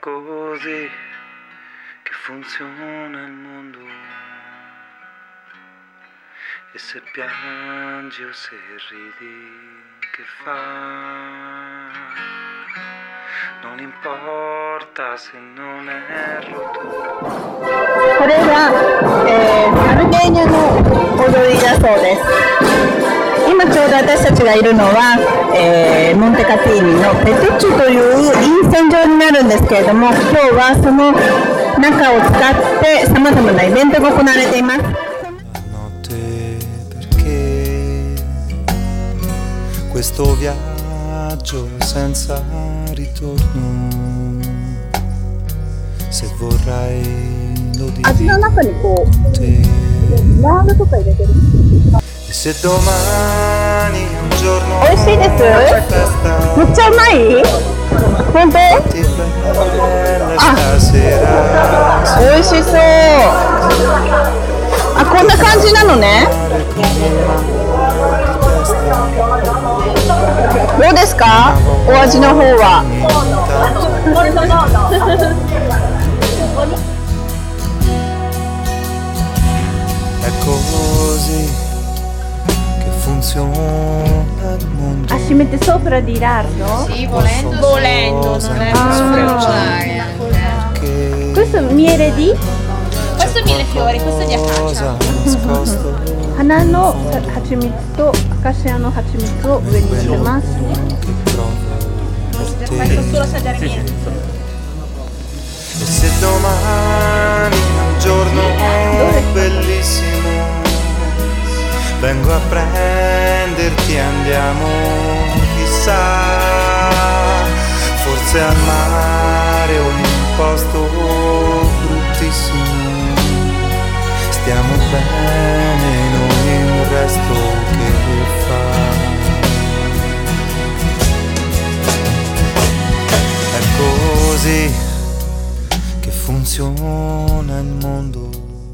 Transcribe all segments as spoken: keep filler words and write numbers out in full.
così che funziona il mondo. E se piangi o se ridi, che fa? Non importa se non erro tu. これは、えー、アルベーニャの踊りだそうです。今ちょうど私たちがいるのは、えー、モンテカティーニのペテッチュという陰線場になるんですけれども、今日はその中を使ってさまざまなイベントが行われています。 Questo viaggio senza ritorno, se vorrai lo dico 味の中にこうラー油とか入れてる。 E se domani un giorno 美味しいです。めっちゃうまい。本当？あ、美味しそう。あ、こんな感じなのね。どうですか？お味の方は。 È così che funziona il mondo. Ah, ci mette sopra di lardo? Sì, volendo, volendo, non è sfrecciare. Questo è miele di? Questo è mille fiori, questo è di acacia. 花の蜂蜜とアカシアの蜂蜜を上に乗せます。 Questo solo assaggiare niente. E se domani un giorno bellissimo vengo a prenderti e andiamo chissà, forse al mare o in un posto bruttissimo, stiamo bene noi il resto che fa. È così che funziona il mondo,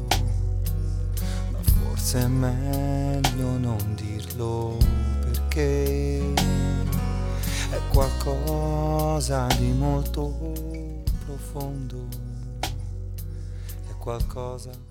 ma forse è meglio non dirlo perché è qualcosa di molto profondo, è qualcosa